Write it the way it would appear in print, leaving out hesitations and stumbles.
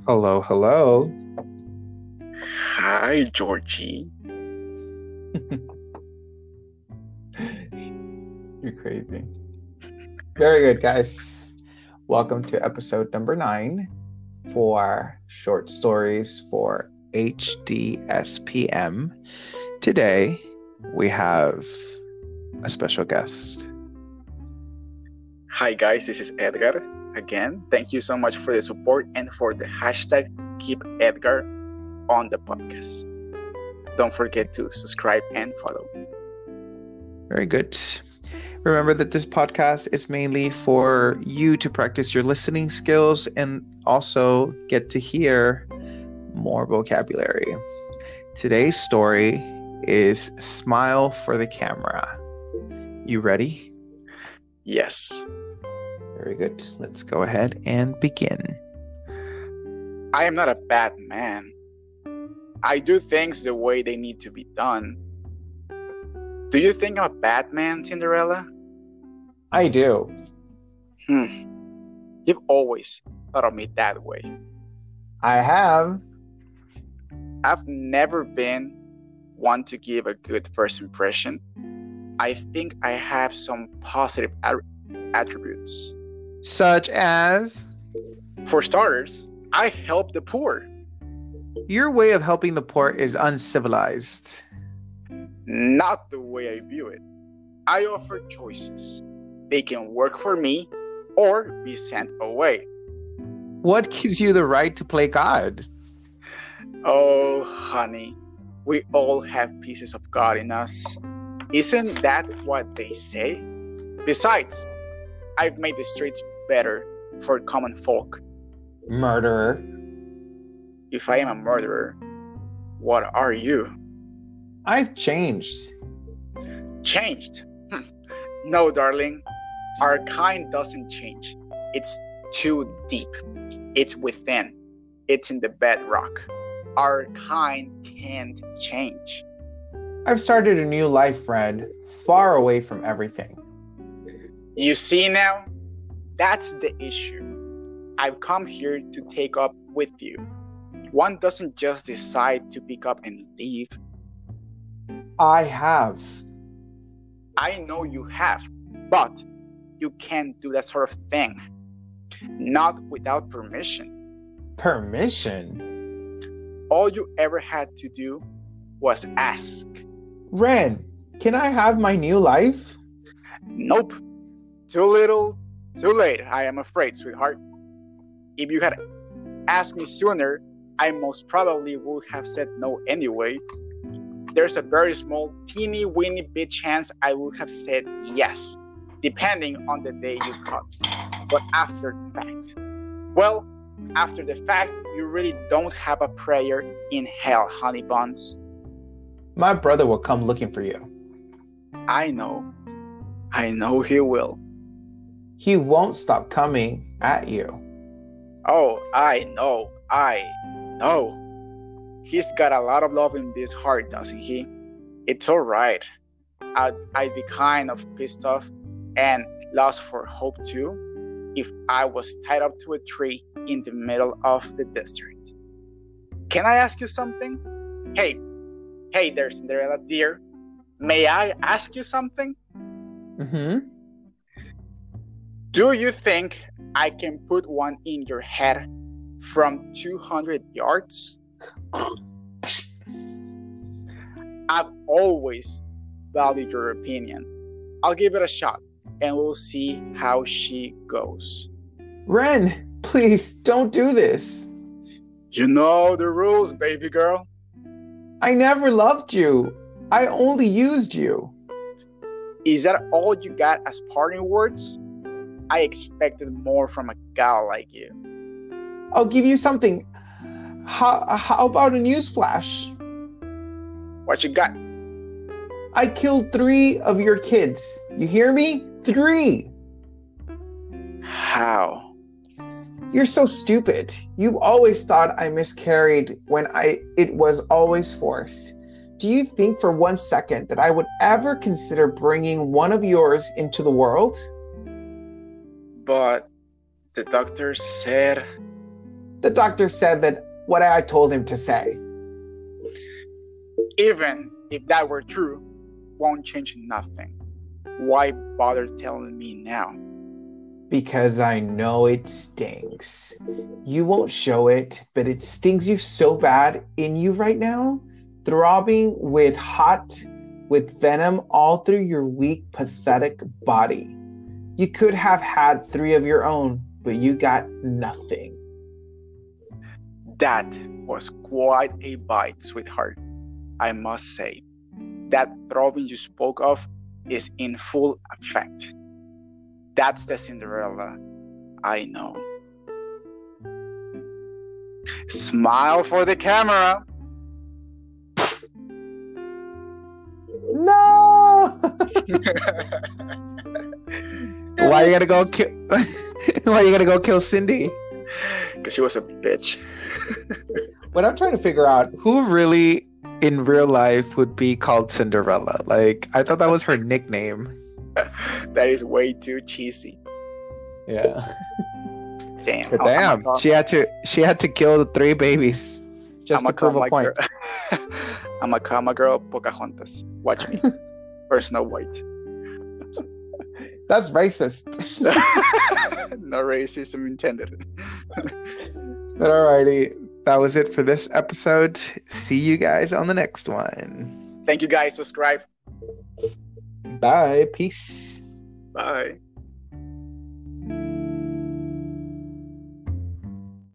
Hello, hello. Hi, Georgie. You're crazy. Very good, guys. Welcome to episode number 9 for Short Stories for HDSPM. Today, we have a special guest. Hi, guys. This is Edgar. Again, thank you so much for the support and for the hashtag Keep Edgar on the podcast. Don't forget to subscribe and follow. Very good. Remember that this podcast is mainly for you to practice your listening skills and also get to hear more vocabulary. Today's story is Smile for the Camera. You ready? Yes. Very good. Let's go ahead and begin. I am not a bad man. I do things the way they need to be done. Do you think I'm a bad man, Cinderella? I do. You've always thought of me that way. I have. I've never been one to give a good first impression. I think I have some positive attributes. Such as? For starters, I help the poor. Your way of helping the poor is uncivilized. Not the way I view it. I offer choices. They can work for me or be sent away. What gives you the right to play God? Oh, honey, we all have pieces of God in us. Isn't that what they say? Besides, I've made the streets better for common folk. Murderer. If I am a murderer, what are you? I've changed. Changed? No, darling. Our kind doesn't change. It's too deep. It's within. It's in the bedrock. Our kind can't change. I've started a new life, friend, far away from everything. You see now? That's the issue. I've come here to take up with you. One doesn't just decide to pick up and leave. I have. I know you have, but you can't do that sort of thing. Not without permission. Permission? All you ever had to do was ask. Ren, can I have my new life? Nope. Too little, too late, I am afraid, sweetheart. If you had asked me sooner, I most probably would have said no anyway. There's a very small, teeny weeny bit chance I would have said yes, depending on the day you caught me. But after the fact, well, after the fact, you really don't have a prayer in hell, honey buns. My brother will come looking for you. I know he will. He won't stop coming at you. Oh, I know. He's got a lot of love in this heart, doesn't he? It's alright. I'd be kind of pissed off and lost for hope too if I was tied up to a tree in the middle of the desert. Can I ask you something? Hey there, Cinderella dear. May I ask you something? Mm-hmm. Do you think I can put one in your head from 200 yards? I've always valued your opinion. I'll give it a shot and we'll see how she goes. Ren, please don't do this. You know the rules, baby girl. I never loved you. I only used you. Is that all you got as parting words? I expected more from a gal like you. I'll give you something. How about a news flash? What you got? I killed 3 of your kids. You hear me? 3. How? You're so stupid. You always thought I miscarried when it was always forced. Do you think for 1 second that I would ever consider bringing one of yours into the world? But the doctor said... The doctor said that what I told him to say. Even if that were true, won't change nothing. Why bother telling me now? Because I know it stings. You won't show it, but it stings you so bad in you right now, throbbing with venom all through your weak, pathetic body. You could have had 3 of your own, but you got nothing. That was quite a bite, sweetheart, I must say. That throbbing you spoke of is in full effect. That's the Cinderella I know. Smile for the camera. No! Why are you gonna go kill? Why are you gonna go kill Cindy? Because she was a bitch. What I'm trying to figure out, who really in real life would be called Cinderella? Like, I thought that was her nickname. That is way too cheesy. Yeah. Damn. But damn, she had to kill the 3 babies just to prove a point. I'm a comma girl, Pocahontas. Watch me. Personal White. That's racist. No racism intended. But alrighty, that was it for this episode. See you guys on the next one. Thank you guys. Subscribe. Bye. Peace. Bye.